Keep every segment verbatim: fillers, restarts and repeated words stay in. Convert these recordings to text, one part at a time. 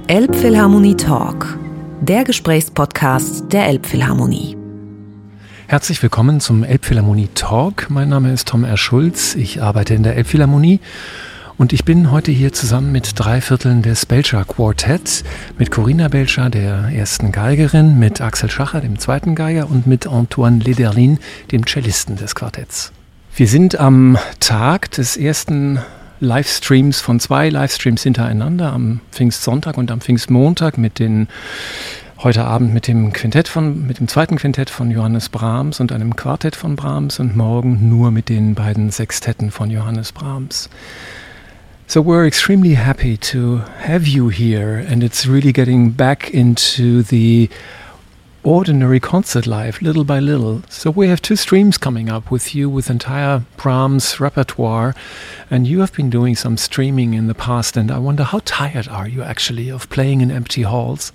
Elbphilharmonie Talk, der Gesprächspodcast der Elbphilharmonie. Herzlich willkommen zum Elbphilharmonie Talk. Mein Name ist Tom R. Schulz, ich arbeite in der Elbphilharmonie und ich bin heute hier zusammen mit drei Vierteln des Belcher Quartetts, mit Corinna Belcher, der ersten Geigerin, mit Axel Schacher, dem zweiten Geiger und mit Antoine Lederlin, dem Cellisten des Quartetts. Wir sind am Tag des ersten Livestreams von zwei Livestreams hintereinander, am Pfingstsonntag und am Pfingstmontag mit den heute Abend mit dem Quintett von, mit dem zweiten Quintett von Johannes Brahms und einem Quartett von Brahms und morgen nur mit den beiden Sextetten von Johannes Brahms. So we're extremely happy to have you here, and it's really getting back into the ordinary concert life, little by little. So we have two streams coming up with you with entire Brahms repertoire, and you have been doing some streaming in the past, and I wonder, how tired are you actually of playing in empty halls?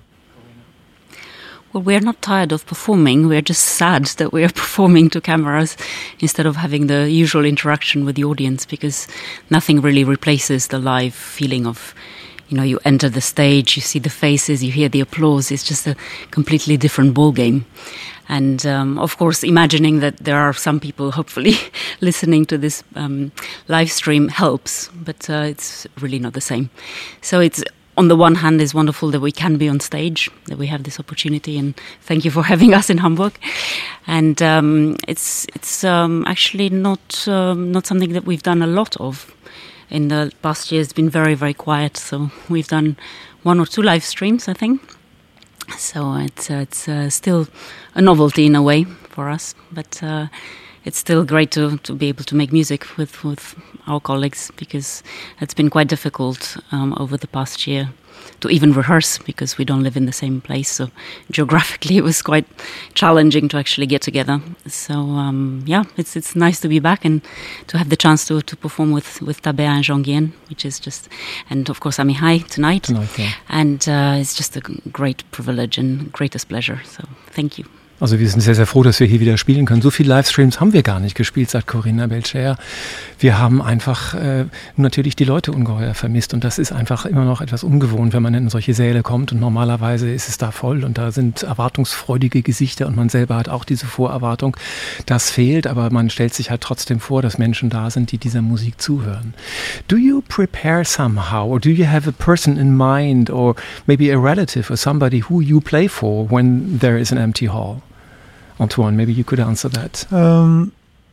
Well, we're not tired of performing, we're just sad that we're performing to cameras instead of having the usual interaction with the audience, because nothing really replaces the live feeling of, you know, you enter the stage, you see the faces, you hear the applause. It's just a completely different ball game. And um, of course, imagining that there are some people hopefully listening to this um, live stream helps, but uh, it's really not the same. So it's, on the one hand, it's wonderful that we can be on stage, that we have this opportunity, and thank you for having us in Hamburg. And um, it's it's um, actually not um, not something that we've done a lot of. In the past year, it's been very, very quiet. So we've done one or two live streams, I think. So it's uh, it's uh, still a novelty in a way for us, but uh, it's still great to, to be able to make music with, with our colleagues, because it's been quite difficult um, over the past year to even rehearse, because we don't live in the same place. So geographically, it was quite challenging to actually get together. So um, yeah, it's it's nice to be back and to have the chance to, to perform with, with Tabea and Jean Guillen, which is just, and of course Amihai tonight. Tonight, yeah. And uh, it's just a great privilege and greatest pleasure. So thank you. Also wir sind sehr, sehr froh, dass wir hier wieder spielen können. So viele Livestreams haben wir gar nicht gespielt, sagt Corinna Belcher. Wir haben einfach äh, natürlich die Leute ungeheuer vermisst, und das ist einfach immer noch etwas ungewohnt, wenn man in solche Säle kommt, und normalerweise ist es da voll und da sind erwartungsfreudige Gesichter und man selber hat auch diese Vorerwartung. Das fehlt, aber man stellt sich halt trotzdem vor, dass Menschen da sind, die dieser Musik zuhören. Do you prepare somehow, or do you have a person in mind, or maybe a relative or somebody who you play for when there is an empty hall? Antoine, maybe you could answer that. Um,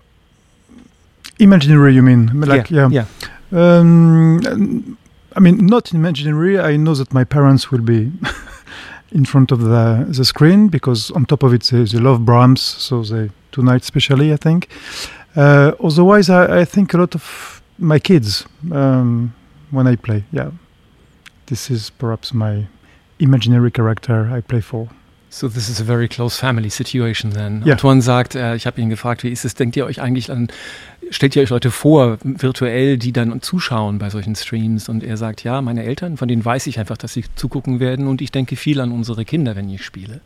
imaginary, you mean? Like, yeah. yeah. yeah. Um, I mean, not imaginary. I know that my parents will be in front of the the screen, because on top of it they, they love Brahms, so they tonight especially, I think. Uh, otherwise, I, I think a lot of my kids um, when I play. Yeah, this is perhaps my imaginary character I play for. So this is a very close family situation then. Ja. Antoine sagt, äh, ich habe ihn gefragt, wie ist es, denkt ihr euch eigentlich an, stellt ihr euch Leute vor, virtuell, die dann zuschauen bei solchen Streams? Und er sagt, ja, meine Eltern, von denen weiß ich einfach, dass sie zugucken werden, und ich denke viel an unsere Kinder, wenn ich spiele.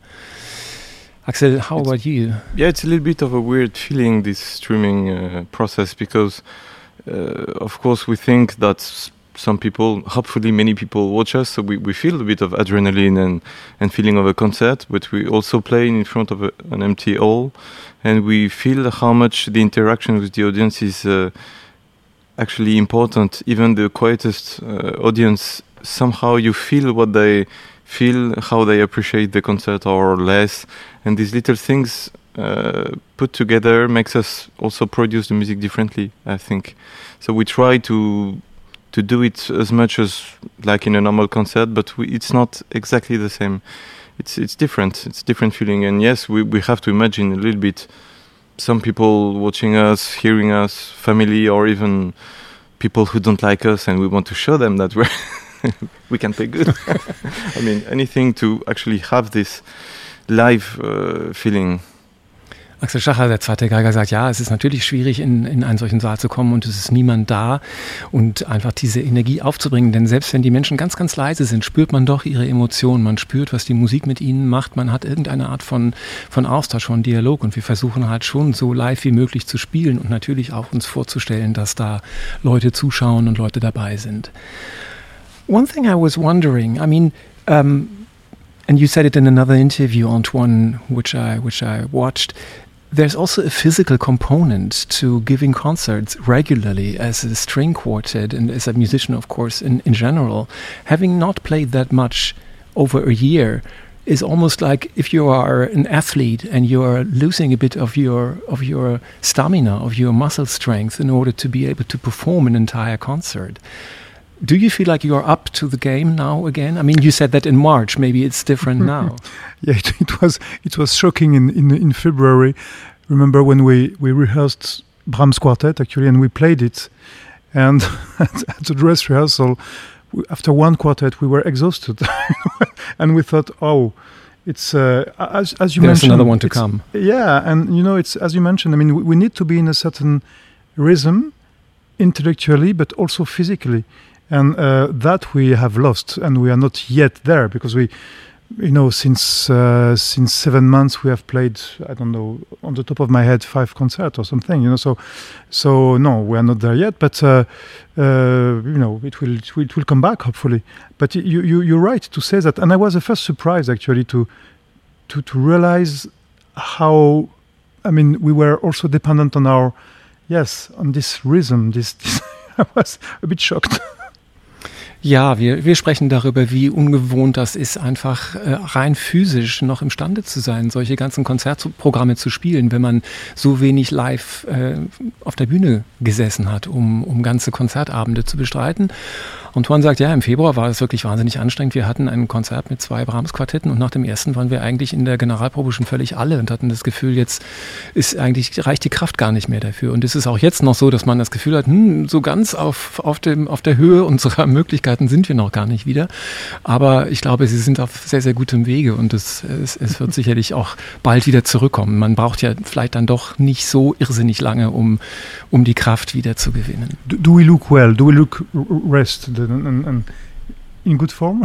Axel, how it's, about you? Yeah, it's a little bit of a weird feeling, this streaming uh, process, because uh, of course we think that some people, hopefully many people watch us, so we, we feel a bit of adrenaline and, and feeling of a concert, but we also play in front of a, an empty hall, and we feel how much the interaction with the audience is uh, actually important. Even the quietest uh, audience, somehow you feel what they feel, how they appreciate the concert or less, and these little things uh, put together makes us also produce the music differently, I think. So we try to to do it as much as like in a normal concert, but we, it's not exactly the same. It's it's different. It's a different feeling. And yes, we, we have to imagine a little bit some people watching us, hearing us, family, or even people who don't like us, and we want to show them that we're we can play good. I mean, anything to actually have this live uh, feeling. Axel Schacher, der zweite Geiger, sagt, ja, es ist natürlich schwierig, in, in einen solchen Saal zu kommen und es ist niemand da und einfach diese Energie aufzubringen, denn selbst wenn die Menschen ganz, ganz leise sind, spürt man doch ihre Emotionen, man spürt, was die Musik mit ihnen macht, man hat irgendeine Art von, von Austausch, von Dialog und wir versuchen halt schon so live wie möglich zu spielen und natürlich auch uns vorzustellen, dass da Leute zuschauen und Leute dabei sind. One thing I was wondering, I mean, um, and you said it in another interview, Antoine, which I which I watched. There's also a physical component to giving concerts regularly as a string quartet and as a musician, of course, in, in general. Having not played that much over a year is almost like if you are an athlete and you are losing a bit of your of your stamina, of your muscle strength in order to be able to perform an entire concert. Do you feel like you're up to the game now again? I mean, you said that in March. Maybe it's different now. Yeah, it, it was it was shocking in, in in February. Remember when we, we rehearsed Brahms Quartet actually, and we played it, and at, at the dress rehearsal, we, after one quartet, we were exhausted, and we thought, oh, it's uh, as as you There's mentioned, another one to come. Yeah, and you know, it's as you mentioned. I mean, we, we need to be in a certain rhythm, intellectually, but also physically. And uh, that we have lost, and we are not yet there because we, you know, since uh, since seven months we have played, I don't know, on the top of my head, five concerts or something, you know. So, so no, we are not there yet. But uh, uh, you know, it will, it will it will come back hopefully. But you you you're right to say that, and I was the first surprised actually to to to realize how, I mean, we were also dependent on our, yes, on this rhythm. This, this I was a bit shocked. Ja, wir, wir sprechen darüber, wie ungewohnt das ist, einfach äh, rein physisch noch imstande zu sein, solche ganzen Konzertprogramme zu spielen, wenn man so wenig live äh, auf der Bühne gesessen hat, um, um ganze Konzertabende zu bestreiten. Und Antoine sagt, ja, im Februar war es wirklich wahnsinnig anstrengend. Wir hatten ein Konzert mit zwei Brahms-Quartetten und nach dem ersten waren wir eigentlich in der Generalprobe schon völlig alle und hatten das Gefühl, jetzt ist eigentlich, reicht die Kraft gar nicht mehr dafür. Und es ist auch jetzt noch so, dass man das Gefühl hat, hm, so ganz auf, auf, dem, auf der Höhe unserer Möglichkeiten sind wir noch gar nicht wieder. Aber ich glaube, sie sind auf sehr, sehr gutem Wege und es, es, es wird sicherlich auch bald wieder zurückkommen. Man braucht ja vielleicht dann doch nicht so irrsinnig lange, um, um die Kraft wieder zu gewinnen. Do, do we look well? Do we look rested and, and, and in good form?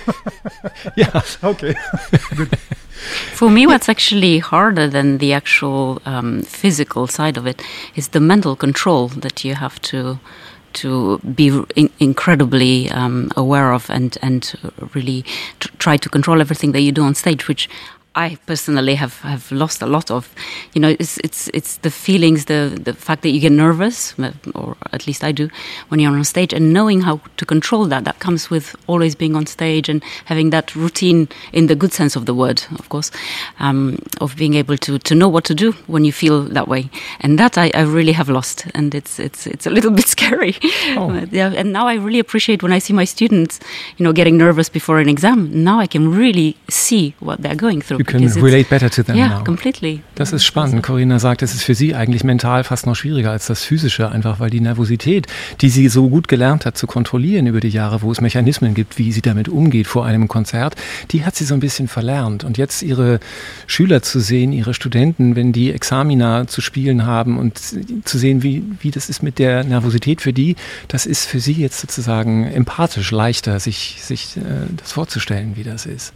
Yeah. Okay. Good. For me, what's actually harder than the actual um, physical side of it is the mental control that you have to to be in- incredibly um, aware of and and really t- try to control everything that you do on stage, which I personally have, have lost a lot of. You know, it's it's it's the feelings, the the fact that you get nervous, or at least I do, when you're on stage, and knowing how to control that. That comes with always being on stage and having that routine, in the good sense of the word, of course, um, of being able to, to know what to do when you feel that way. And that I, I really have lost, and it's it's it's a little bit scary. Oh. But yeah, and now I really appreciate when I see my students, you know, getting nervous before an exam. Now I can really see what they're going through. You can relate better to them yeah, now. Completely. Das ist spannend. Corinna sagt, es ist für sie eigentlich mental fast noch schwieriger als das Physische, einfach weil die Nervosität, die sie so gut gelernt hat zu kontrollieren über die Jahre, wo es Mechanismen gibt, wie sie damit umgeht vor einem Konzert, die hat sie so ein bisschen verlernt. Und jetzt ihre Schüler zu sehen, ihre Studenten, wenn die Examina zu spielen haben und zu sehen, wie, wie das ist mit der Nervosität für die, das ist für sie jetzt sozusagen empathisch leichter, sich, sich äh, das vorzustellen, wie das ist.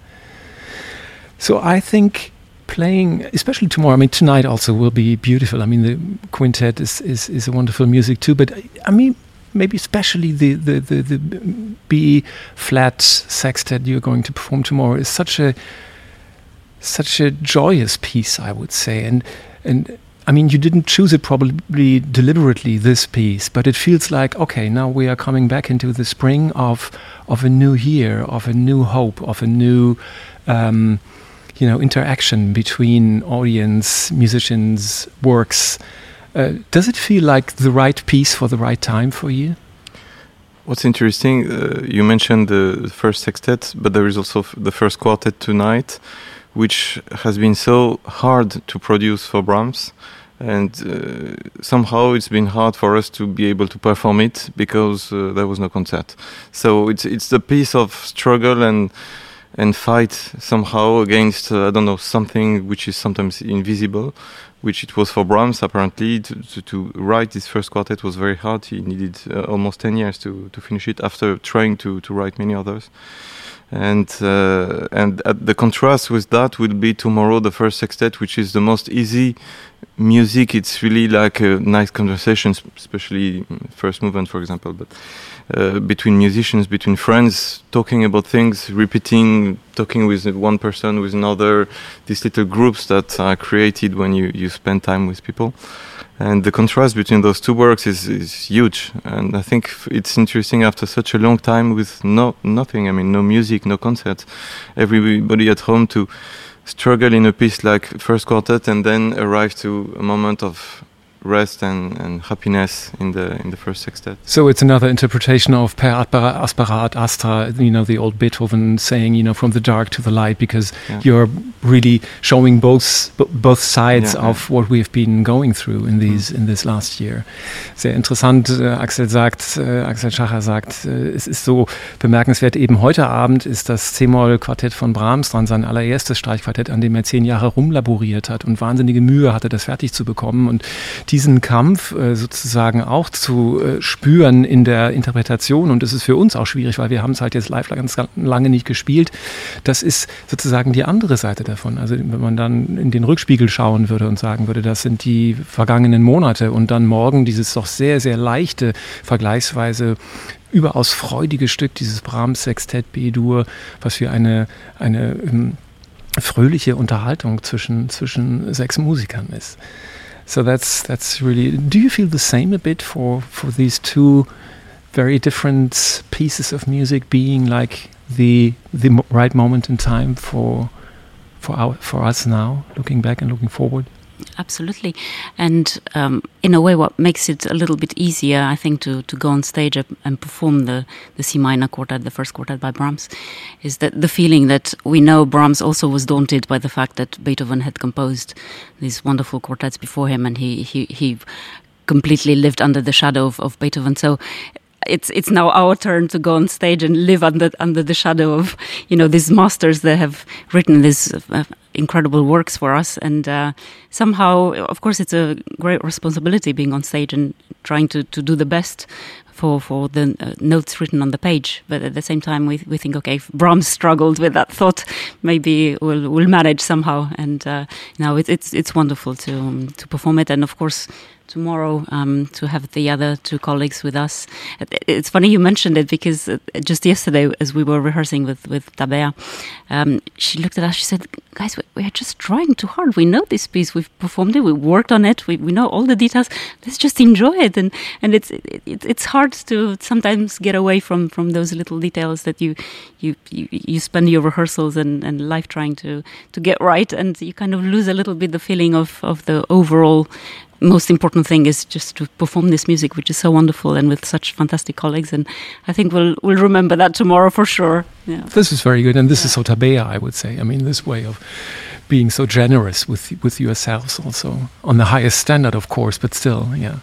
So I think playing, especially tomorrow, I mean, tonight also will be beautiful. I mean, the quintet is, is, is a wonderful music too, but I mean, maybe especially the, the, the, the B flat sextet you're going to perform tomorrow is such a, such a joyous piece, I would say. And, and I mean, you didn't choose it probably deliberately, this piece, but it feels like, okay, now we are coming back into the spring of, of a new year, of a new hope, of a new, um, you know, interaction between audience, musicians, works. Uh, does it feel like the right piece for the right time for you? What's interesting, uh, you mentioned the first sextet, but there is also f- the first quartet tonight, which has been so hard to produce for Brahms. And uh, somehow it's been hard for us to be able to perform it because uh, there was no concert. So it's it's the piece of struggle and and fight somehow against, uh, I don't know, something which is sometimes invisible, which it was for Brahms, apparently. To, to, to write this first quartet was very hard. He needed uh, almost ten years to, to finish it after trying to, to write many others. And uh, and uh, the contrast with that will be tomorrow, the first sextet, which is the most easy music. It's really like a nice conversation, especially first movement, for example. But uh, between musicians, between friends, talking about things, repeating, talking with one person, with another, these little groups that are created when you, you spend time with people. And the contrast between those two works is, is huge. And I think it's interesting after such a long time with no nothing, I mean, no music, no concerts, everybody at home to struggle in a piece like First Quartet and then arrive to a moment of rest and, and happiness in the in the first sextet. So it's another interpretation of per aspera ad astra, you know, the old Beethoven saying, you know, from the dark to the light, because yeah. you're really showing both both sides yeah, of yeah. what we've been going through in these mhm. in this last year. Sehr interessant. Äh, Axel sagt, äh, Axel Schacher sagt, äh, es ist so bemerkenswert. Eben heute Abend ist das C-Moll-Quartett von Brahms dran, sein allererstes Streichquartett, an dem er zehn Jahre rumlaboriert hat und wahnsinnige Mühe hatte, das fertig zu bekommen. Und diesen Kampf äh, sozusagen auch zu äh, spüren in der Interpretation, und das ist für uns auch schwierig, weil wir haben es halt jetzt live ganz lange nicht gespielt, das ist sozusagen die andere Seite davon. Also wenn man dann in den Rückspiegel schauen würde und sagen würde, das sind die vergangenen Monate und dann morgen dieses doch sehr, sehr leichte, vergleichsweise überaus freudige Stück, dieses Brahms-Sextett B-Dur, was für eine, eine um, fröhliche Unterhaltung zwischen, zwischen sechs Musikern ist. So that's that's really. Do you feel the same a bit for, for these two very different pieces of music being like the the right moment in time for for our for us now, looking back and looking forward? Absolutely, and um, in a way, what makes it a little bit easier, I think, to, to go on stage and perform the, the C minor quartet, the first quartet by Brahms, is that the feeling that we know Brahms also was daunted by the fact that Beethoven had composed these wonderful quartets before him, and he he, he completely lived under the shadow of, of Beethoven. So it's it's now our turn to go on stage and live under under the shadow of, you know, these masters that have written these uh, incredible works for us. And uh, somehow, of course, it's a great responsibility being on stage and trying to, to do the best for for the uh, notes written on the page. But at the same time, we we think, okay, if Brahms struggled with that thought, maybe we'll we'll manage somehow. And uh, now it's it's it's wonderful to um, to perform it, and of course, tomorrow um, to have the other two colleagues with us. It's funny you mentioned it, because just yesterday, as we were rehearsing with, with Tabea, um, she looked at us, she said, guys, we, we are just trying too hard. We know this piece, we've performed it, we worked on it, we, we know all the details, let's just enjoy it. And and it's it, it's hard to sometimes get away from, from those little details that you you, you, you spend your rehearsals and, and life trying to, to get right, and you kind of lose a little bit the feeling of, of the overall most important thing is just to perform this music, which is so wonderful and with such fantastic colleagues. And I think we'll we'll remember that tomorrow for sure. Yeah. This is very good, and this yeah. is so Tabea, I would say. I mean, this way of being so generous with with yourselves, also on the highest standard, of course, but still, yeah.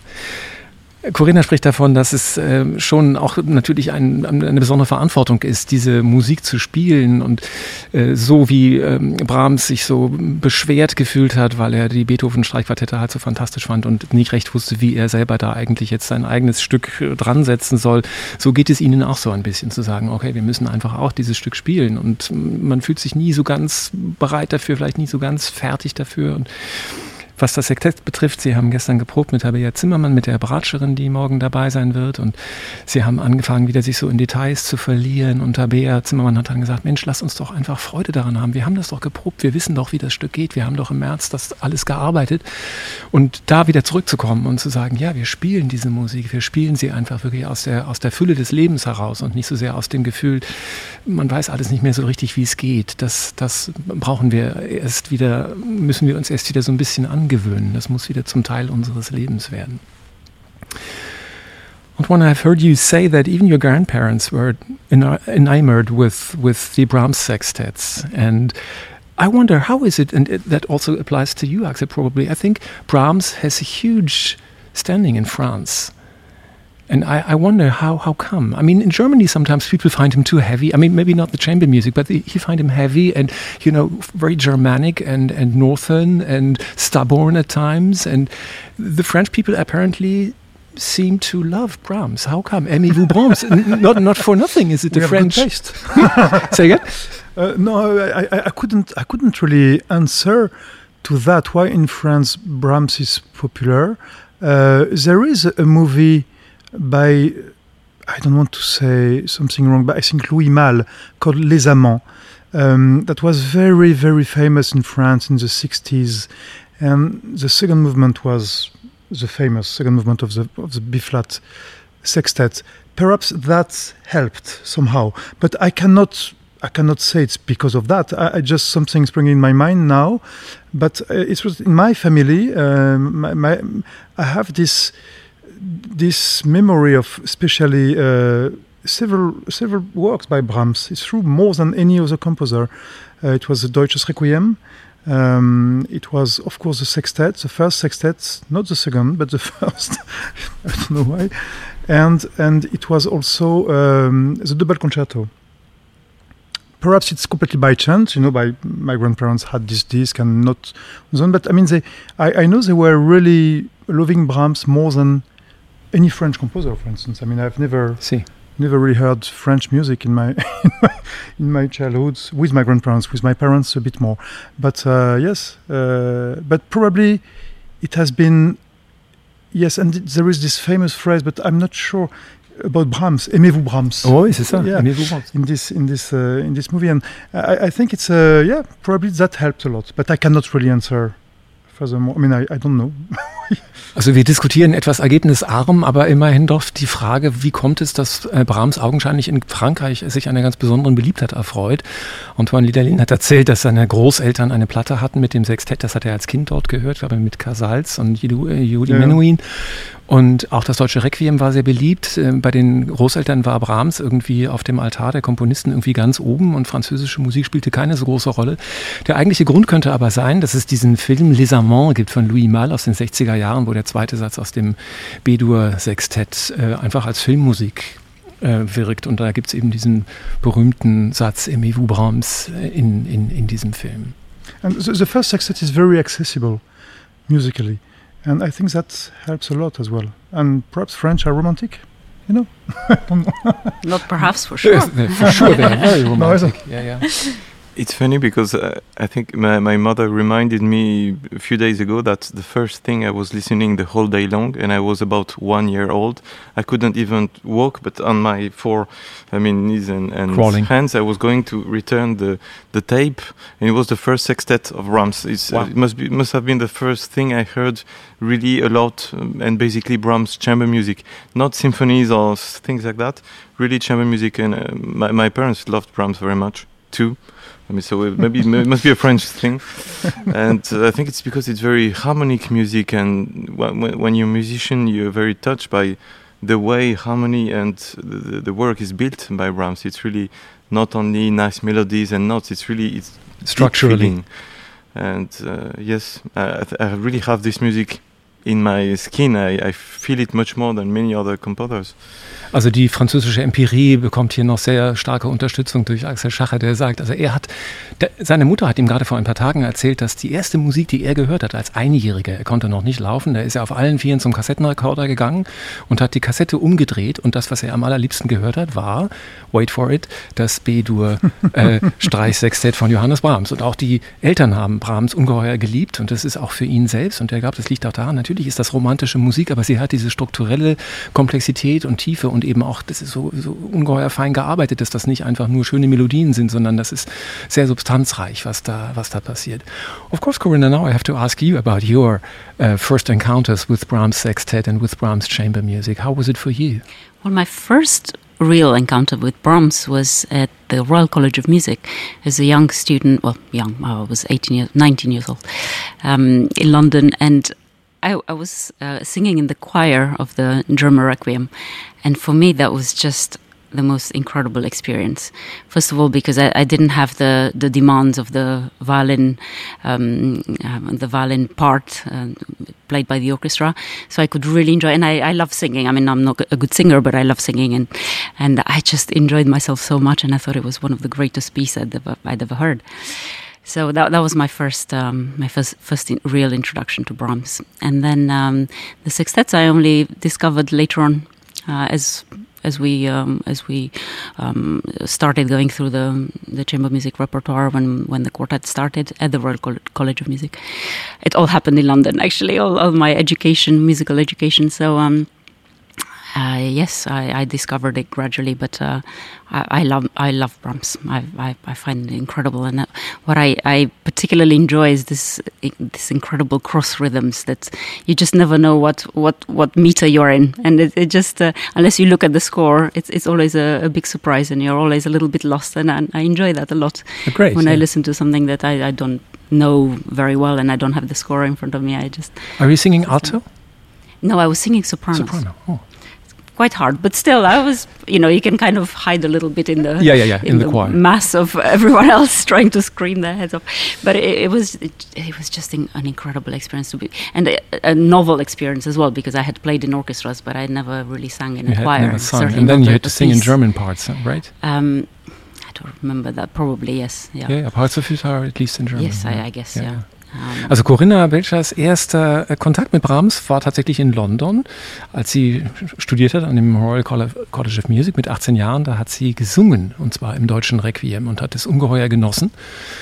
Corinna spricht davon, dass es äh, schon auch natürlich ein, eine besondere Verantwortung ist, diese Musik zu spielen, und äh, so wie ähm, Brahms sich so beschwert gefühlt hat, weil er die Beethoven-Streichquartette halt so fantastisch fand und nicht recht wusste, wie er selber da eigentlich jetzt sein eigenes Stück äh, dran setzen soll, so geht es ihnen auch so ein bisschen, zu sagen, okay, wir müssen einfach auch dieses Stück spielen, und man fühlt sich nie so ganz bereit dafür, vielleicht nie so ganz fertig dafür. Und was das Sektett betrifft, Sie haben gestern geprobt mit Tabea Zimmermann, mit der Bratscherin, die morgen dabei sein wird, und Sie haben angefangen, wieder sich so in Details zu verlieren, und Tabea Zimmermann hat dann gesagt, Mensch, lass uns doch einfach Freude daran haben, wir haben das doch geprobt, wir wissen doch, wie das Stück geht, wir haben doch im März das alles gearbeitet, und da wieder zurückzukommen und zu sagen, ja, wir spielen diese Musik, wir spielen sie einfach wirklich aus der, aus der Fülle des Lebens heraus und nicht so sehr aus dem Gefühl, man weiß alles nicht mehr so richtig, wie es geht, das, das brauchen wir erst wieder, müssen wir uns erst wieder so ein bisschen angewöhnen. gewöhnen. Das muss wieder zum Teil unseres Lebens werden. And when I've heard you say that even your grandparents were enamored with, with the Brahms sextets, and I wonder, how is it, and it, that also applies to you, Axel, probably, I think Brahms has a huge standing in France. And I, I wonder how how come? I mean, in Germany sometimes people find him too heavy. I mean, maybe not the chamber music, but the, you find him heavy and, you know, very Germanic and, and northern and stubborn at times. And the French people apparently seem to love Brahms. How come? Aimez-vous Brahms? not not for nothing. Is it the we French? Have good taste. Say again? Uh, no, I, I, I couldn't. I couldn't really answer to that. Why in France Brahms is popular? Uh, there is a movie by, I don't want to say something wrong, but I think Louis Malle, called Les Amants. Um, that was very, very famous in France in the sixties. And the second movement was the famous second movement of the of the B-flat sextet. Perhaps that helped somehow, but I cannot I cannot say it's because of that. I, I just something springing in my mind now, but uh, it was in my family. Um, my, my I have this this memory of especially uh, several several works by Brahms. It's true more than any other composer. Uh, it was the Deutsches Requiem. Um, it was, of course, the sextet, the first sextet, not the second, but the first. I don't know why. And and it was also um, the double concerto. Perhaps it's completely by chance, you know. By my grandparents had this disc and not, but I mean, they. I, I know they were really loving Brahms more than any French composer, for instance. I mean, I've never. See. Never really heard French music in my in my, in my childhood with my grandparents, with my parents a bit more. But uh, yes, uh, but probably it has been, yes, and there is this famous phrase, but I'm not sure about Brahms. Aimez-vous Brahms? Oh, oui, c'est ça. Yeah, Aimez-vous Brahms? In this in this uh, in this movie, and I, I think it's uh, yeah, probably that helped a lot. But I cannot really answer furthermore. I mean, I, I don't know. Also wir diskutieren etwas ergebnisarm, aber immerhin doch die Frage, wie kommt es, dass Brahms augenscheinlich in Frankreich sich einer ganz besonderen Beliebtheit erfreut. Antoine Liederlin hat erzählt, dass seine Großeltern eine Platte hatten mit dem Sextett, das hat er als Kind dort gehört, glaube ich, mit Casals und Yehudi Menuhin. Und auch das deutsche Requiem war sehr beliebt. Bei den Großeltern war Brahms irgendwie auf dem Altar der Komponisten irgendwie ganz oben und französische Musik spielte keine so große Rolle. Der eigentliche Grund könnte aber sein, dass es diesen Film Les Amants gibt von Louis Malle aus den sechziger Jahren, wo der zweite Satz aus dem B-Dur-Sextett äh, einfach als Filmmusik äh, wirkt. Und da gibt es eben diesen berühmten Satz Aimez-vous Brahms in, in, in diesem Film. And the, the first sextet is very accessible musically. And I think that helps a lot as well. And perhaps French are romantic, you know? I don't know. Not perhaps, for sure. For sure, they are very romantic. No, yeah, yeah. It's funny because uh, I think my, my mother reminded me a few days ago that the first thing I was listening the whole day long, and I was about one year old. I couldn't even walk, but on my four, I mean, knees and, and hands, I was going to return the, the tape, and it was the first sextet of Brahms. It's, wow. uh, it must be must have been the first thing I heard really a lot, um, and basically Brahms chamber music, not symphonies or things like that. Really chamber music, and uh, my my parents loved Brahms very much too. I mean, so maybe it must be a French thing, and uh, I think it's because it's very harmonic music, and when, when you're a musician, you're very touched by the way harmony and the, the work is built by Brahms. It's really not only nice melodies and notes; it's really it's structurally. And uh, yes, I, I really have this music in my skin. I, I feel it much more than many other composers. Also die französische Empirie bekommt hier noch sehr starke Unterstützung durch Axel Schacher, der sagt, also er hat, der, seine Mutter hat ihm gerade vor ein paar Tagen erzählt, dass die erste Musik, die er gehört hat als Einjähriger, er konnte noch nicht laufen, da ist er auf allen Vieren zum Kassettenrekorder gegangen und hat die Kassette umgedreht und das, was er am allerliebsten gehört hat, war, wait for it, das B-Dur äh, Streichsextett von Johannes Brahms. Und auch die Eltern haben Brahms ungeheuer geliebt und das ist auch für ihn selbst und er glaubt, das liegt auch daran, natürlich ist das romantische Musik, aber sie hat diese strukturelle Komplexität und Tiefe und eben auch, das ist so, so ungeheuer fein gearbeitet, dass das nicht einfach nur schöne Melodien sind, sondern das ist sehr substanzreich, was da, was da passiert. Of course, Corinna, now I have to ask you about your uh, first encounters with Brahms Sextet and with Brahms chamber music. How was it for you? Well, my first real encounter with Brahms was at the Royal College of Music as a young student, well, young, I was eighteen years, nineteen years old, um, in London, and I, I was uh, singing in the choir of the German Requiem, and for me that was just the most incredible experience. First of all, because I, I didn't have the, the demands of the violin, um, um, the violin part uh, played by the orchestra, so I could really enjoy. And I, I love singing. I mean, I'm not a good singer, but I love singing, and and I just enjoyed myself so much. And I thought it was one of the greatest pieces I'd ever, I'd ever heard. So that that was my first um, my first first in, real introduction to Brahms, and then um, the sextets I only discovered later on uh, as as we um, as we um, started going through the the chamber music repertoire when when the quartet started at the Royal College of Music. It all happened in London, actually, all, all my education, musical education. So. Um, Uh, yes, I, I discovered it gradually, but uh, I, I love I love Brahms. I I, I find it incredible, and uh, what I, I particularly enjoy is this this incredible cross rhythms that you just never know what, what, what meter you're in, and it, it just uh, unless you look at the score, it's it's always a, a big surprise, and you're always a little bit lost, and I, I enjoy that a lot. Great, when yeah. I listen to something that I, I don't know very well, and I don't have the score in front of me, I just. Are you singing alto? No, I was singing soprano. Soprano. Oh. Quite hard, but still, I was, you know, you can kind of hide a little bit in the yeah, yeah, yeah, in, in the, the choir mass of everyone else trying to scream their heads off. But it, it was, it, it was just in, an incredible experience to be, and a, a novel experience as well, because I had played in orchestras, but I never really sang in you a had choir. Never sung. Certainly and then not you a- had to a sing in piece. German parts, right? Um, I don't remember that. Probably yes. Yeah. Yeah, yeah, parts of it are at least in German. Yes, yeah. I, I guess. Yeah, Yeah. yeah. Um, Also Corinna Belchers erster äh, Kontakt mit Brahms war tatsächlich in London, als sie studiert hat an dem Royal College of Music mit achtzehn Jahren. Da hat sie gesungen, und zwar im deutschen Requiem, und hat es ungeheuer genossen,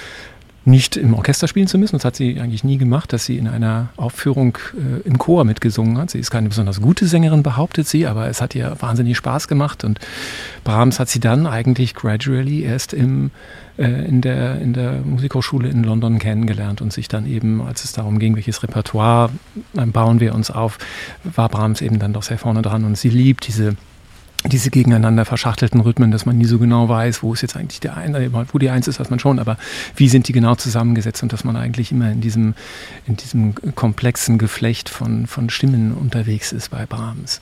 nicht im Orchester spielen zu müssen. Das hat sie eigentlich nie gemacht, dass sie in einer Aufführung äh, im Chor mitgesungen hat. Sie ist keine besonders gute Sängerin, behauptet sie, aber es hat ihr wahnsinnig Spaß gemacht, und Brahms hat sie dann eigentlich gradually erst im in der, in der Musikhochschule in London kennengelernt und sich dann eben, als es darum ging, welches Repertoire bauen wir uns auf, war Brahms eben dann doch sehr vorne dran, und sie liebt diese, diese gegeneinander verschachtelten Rhythmen, dass man nie so genau weiß, wo ist jetzt eigentlich der eine, wo die Eins ist, weiß man schon, aber wie sind die genau zusammengesetzt, und dass man eigentlich immer in diesem, in diesem komplexen Geflecht von, von Stimmen unterwegs ist bei Brahms.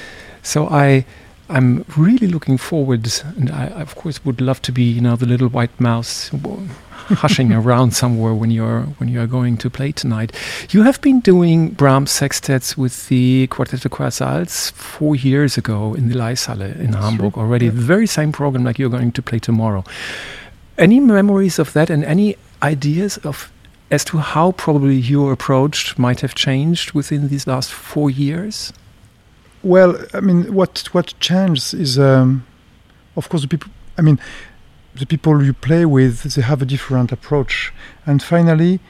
So I I'm really looking forward, and I, of course, would love to be, you know, the little white mouse hushing around somewhere when you're when you are going to play tonight. You have been doing Brahms sextets with the Quartetto Casals four years ago in the Leishalle in Hamburg already. Yeah. The very same program like you're going to play tomorrow. Any memories of that, and any ideas of as to how probably your approach might have changed within these last four years? Well, I mean, what what changes is, um, of course, the people. I mean, the people you play with, they have a different approach, and finally,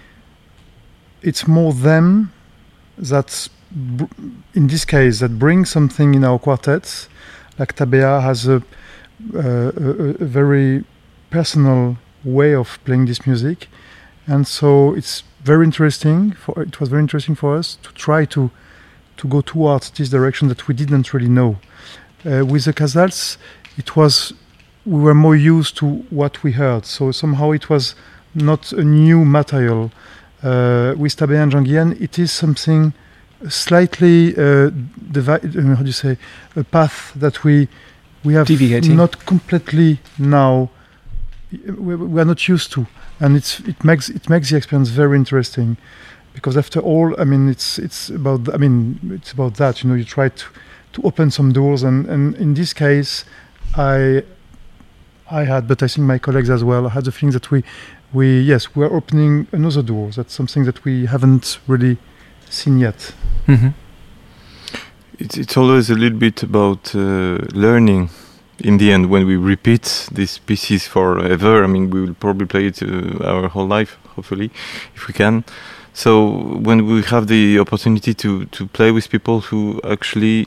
it's more them that, br- in this case, that bring something in our quartets. Like Tabea has a, uh, a, a very personal way of playing this music, and so it's very interesting. For it was very interesting for us to try to. to go towards this direction that we didn't really know. Uh, with the Casals, it was, we were more used to what we heard, so somehow it was not a new material. Uh, with Tabea and Jean Guillen, it is something slightly, uh, divi- uh, how do you say, a path that we we have Deviating. not completely now, we, we are not used to, and it's it makes it makes the experience very interesting. Because after all, I mean, it's it's about I mean, it's about that. You know, you try to, to open some doors, and, and in this case, I I had, but I think my colleagues as well had the feeling that we we yes we're opening another door. That's something that we haven't really seen yet. Mm-hmm. It's it's always a little bit about uh, learning. In the end, when we repeat these pieces forever, I mean, we will probably play it uh, our whole life, hopefully, if we can. So when we have the opportunity to, to play with people who actually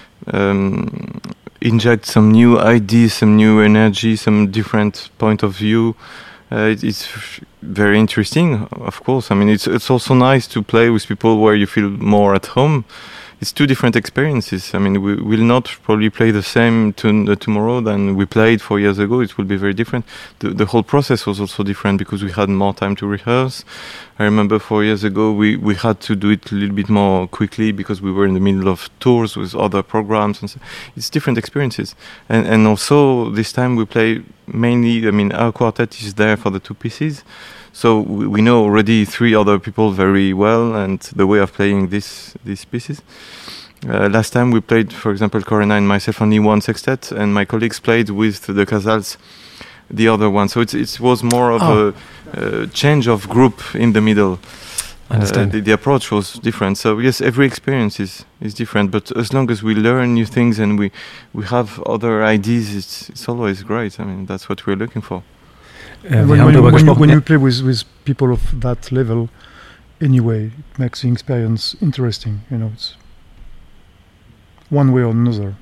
um, inject some new ideas, some new energy, some different point of view, uh, it, it's very interesting, of course. I mean, it's it's also nice to play with people where you feel more at home. It's two different experiences. I mean, we will not probably play the same tune uh, tomorrow than we played four years ago. It will be very different. The, the whole process was also different because we had more time to rehearse. I remember four years ago we, we had to do it a little bit more quickly because we were in the middle of tours with other programs. And so it's different experiences. And, and also this time we play mainly, I mean, our quartet is there for the two pieces. So we, we know already three other people very well and the way of playing this these pieces. Uh, last time we played, for example, Corinna and myself only one sextet, and my colleagues played with the Casals the other one. So it's, it was more of oh. a, a change of group in the middle. Understand. Uh, the, the approach was different. So yes, every experience is, is different. But as long as we learn new things and we, we have other ideas, it's, it's always great. I mean, that's what we're looking for. Äh, when wir haben when, darüber when, gesprochen. when ja. you play with, with people of that level, anyway, it makes the experience interesting. You know, it's one way or another.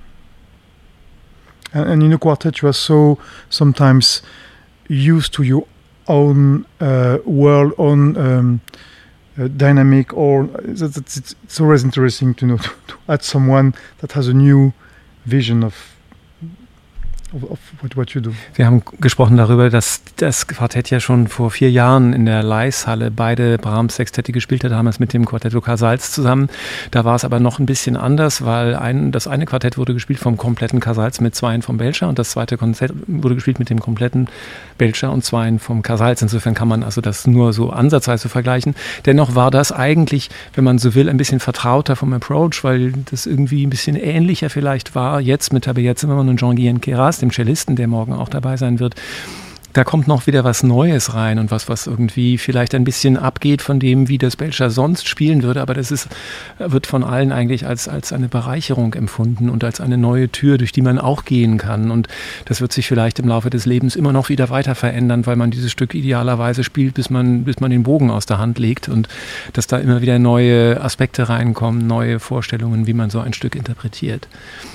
And, and in a quartet, you are so sometimes used to your own uh, world, own um, uh, dynamic, or it's, it's, it's always interesting to know to, to add someone that has a new vision of Of, of what, what you do. Wir haben gesprochen darüber, dass das Quartett ja schon vor vier Jahren in der Leishalle beide Brahms-Sextette gespielt hat, damals mit dem Quartetto Casals zusammen. Da war es aber noch ein bisschen anders, weil ein, das eine Quartett wurde gespielt vom kompletten Casals mit Zweien vom Belcher und das zweite Konzert wurde gespielt mit dem kompletten Belcher und Zweien vom Casals. Insofern kann man also das nur so ansatzweise vergleichen. Dennoch war das eigentlich, wenn man so will, ein bisschen vertrauter vom Approach, weil das irgendwie ein bisschen ähnlicher vielleicht war jetzt mit Tabea Zimmermann und Jean-Guyen Queyras, dem Cellisten, der morgen auch dabei sein wird. Da kommt noch wieder was Neues rein und was, was irgendwie vielleicht ein bisschen abgeht von dem, wie das Belcher sonst spielen würde, aber das ist, wird von allen eigentlich als, als eine Bereicherung empfunden und als eine neue Tür, durch die man auch gehen kann, und das wird sich vielleicht im Laufe des Lebens immer noch wieder weiter verändern, weil man dieses Stück idealerweise spielt, bis man, bis man den Bogen aus der Hand legt und dass da immer wieder neue Aspekte reinkommen, neue Vorstellungen, wie man so ein Stück interpretiert.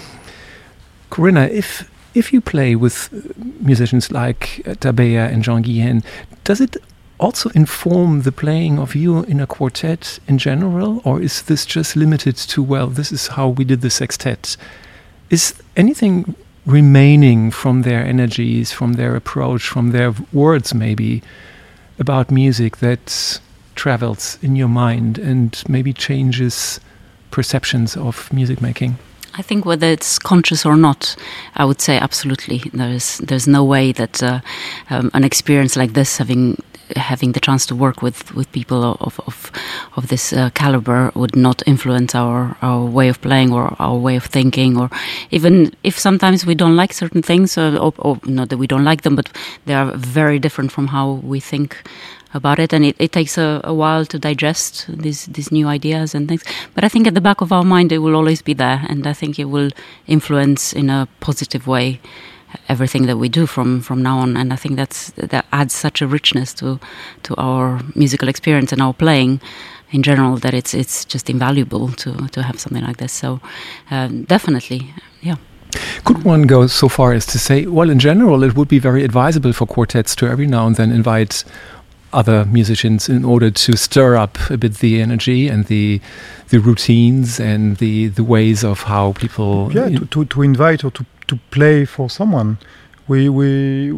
Corinna, if If you play with musicians like Tabea and Jean-Guyen, does it also inform the playing of you in a quartet in general, or is this just limited to, well, this is how we did the sextet? Is anything remaining from their energies, from their approach, from their words maybe, about music that travels in your mind and maybe changes perceptions of music making? I think whether it's conscious or not, I would say absolutely. There's there's no way that uh, um, an experience like this, having having the chance to work with, with people of of of this uh, caliber, would not influence our, our way of playing or our way of thinking, or even if sometimes we don't like certain things, or, or, or not that we don't like them, but they are very different from how we think about it, and it, it takes a, a while to digest these these new ideas and things. But I think at the back of our mind it will always be there, and I think it will influence in a positive way everything that we do from, from now on. And I think that's that adds such a richness to to our musical experience and our playing in general, that it's it's just invaluable to to have something like this. So um, definitely, yeah. Could one go so far as to say, well, in general, it would be very advisable for quartets to every now and then invite other musicians in order to stir up a bit the energy and the the routines and the, the ways of how people... Yeah, to, to, to invite or to, to play for someone. We we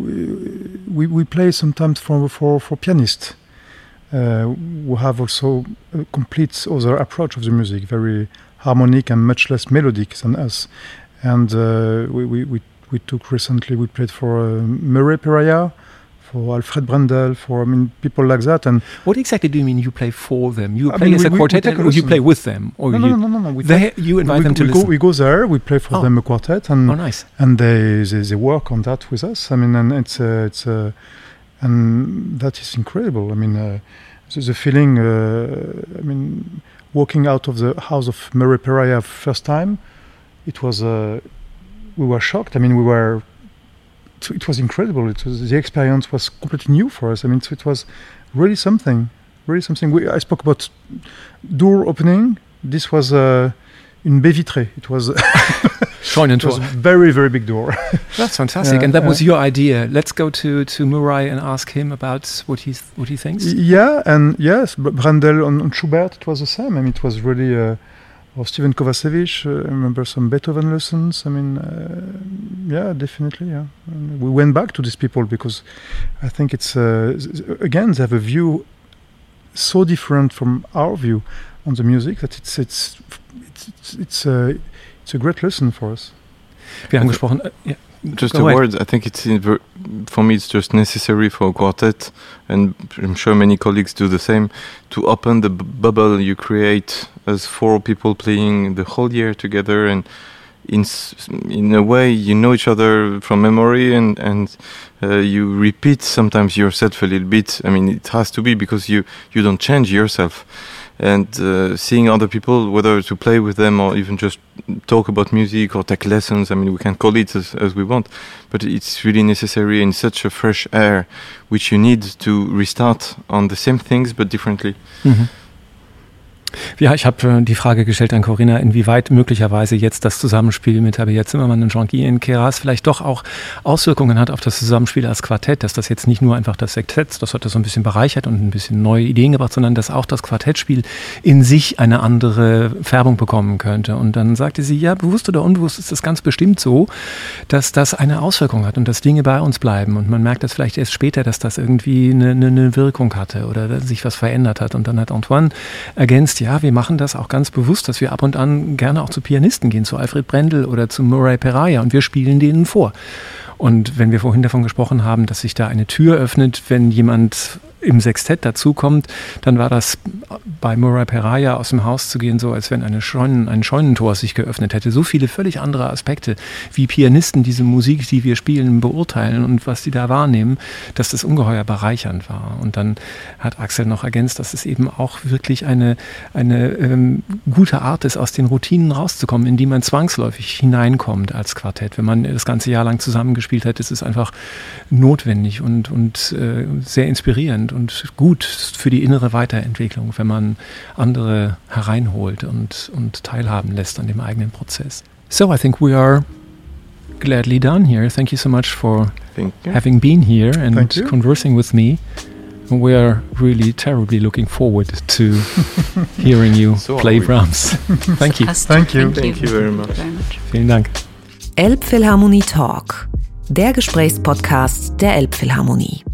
we, we play sometimes for, for, for pianists uh, who have also a complete other approach of the music, very harmonic and much less melodic than us. And uh, we, we, we, we took recently, we played for uh, Murray Peraya, for Alfred Brendel, for I mean people like that. And what exactly do you mean you play for them? You I play mean, as we, a quartet, we, we or you play with them? Or no, you, no, no, no, no. We they, you invite we, them to we listen. Go, we go there. We play for oh. them a quartet, and oh, nice. and they, they they work on that with us. I mean, and it's uh, it's uh, and that is incredible. I mean, uh, the, the feeling. Uh, I mean, walking out of the house of Murray Peraya first time, it was. Uh, we were shocked. I mean, we were. It was incredible. It was, the experience was completely new for us. I mean, so it was really something, really something. We, I spoke about door opening. This was uh, in baie vitrée. It was, it was a very, very big door. That's fantastic. Uh, and that uh, was your idea. Let's go to, to Murray and ask him about what he what he thinks. Yeah, and yes, Brendel on, on Schubert, it was the same. I mean, it was really. Uh, Or Steven Kovacevic, uh, I remember some Beethoven lessons. I mean, uh, yeah, definitely, yeah. And we went back to these people because I think it's, uh, again, they have a view so different from our view on the music that it's it's it's it's, it's, uh, it's a great lesson for us. Wir haben gesprochen, uh, yeah. Just Go a ahead. word, I think it's, in, for me, it's just necessary for a quartet, and I'm sure many colleagues do the same, to open the b- bubble you create as four people playing the whole year together, and in in a way you know each other from memory, and, and uh, you repeat sometimes yourself a little bit. I mean, it has to be because you, you don't change yourself. And uh, seeing other people, whether to play with them or even just talk about music or take lessons, I mean, we can call it as, as we want, but it's really necessary in such a fresh air, which you need to restart on the same things but differently. Mm-hmm. Ja, ich habe äh, die Frage gestellt an Corinna, inwieweit möglicherweise jetzt das Zusammenspiel mit Tabea Zimmermann und Jean-Guy Inqueras vielleicht doch auch Auswirkungen hat auf das Zusammenspiel als Quartett, dass das jetzt nicht nur einfach das Sektett, das hat das so ein bisschen bereichert und ein bisschen neue Ideen gebracht, sondern dass auch das Quartettspiel in sich eine andere Färbung bekommen könnte. Und dann sagte sie, ja, bewusst oder unbewusst ist das ganz bestimmt so, dass das eine Auswirkung hat und dass Dinge bei uns bleiben. Und man merkt das vielleicht erst später, dass das irgendwie eine, eine Wirkung hatte oder dass sich was verändert hat. Und dann hat Antoine ergänzt, ja, wir machen das auch ganz bewusst, dass wir ab und an gerne auch zu Pianisten gehen, zu Alfred Brendel oder zu Murray Peraya und wir spielen denen vor. Und wenn wir vorhin davon gesprochen haben, dass sich da eine Tür öffnet, wenn jemand im Sextett dazukommt, dann war das bei Murray Peraya aus dem Haus zu gehen, so als wenn eine Scheunen, ein Scheunentor sich geöffnet hätte. So viele völlig andere Aspekte, wie Pianisten diese Musik, die wir spielen, beurteilen und was die da wahrnehmen, dass das ungeheuer bereichernd war. Und dann hat Axel noch ergänzt, dass es eben auch wirklich eine, eine ähm, gute Art ist, aus den Routinen rauszukommen, in die man zwangsläufig hineinkommt als Quartett. Wenn man das ganze Jahr lang zusammengespielt hat, ist es einfach notwendig und, und äh, sehr inspirierend und gut für die innere Weiterentwicklung, wenn man andere hereinholt und, und teilhaben lässt an dem eigenen Prozess. So I think we are gladly done here. Thank you so much for having been here and conversing with me. We are really terribly looking forward to hearing you so play Brahms. Thank you. Thank you. Thank you very much. Vielen Dank. Elbphilharmonie Talk, der Gesprächspodcast der Elbphilharmonie.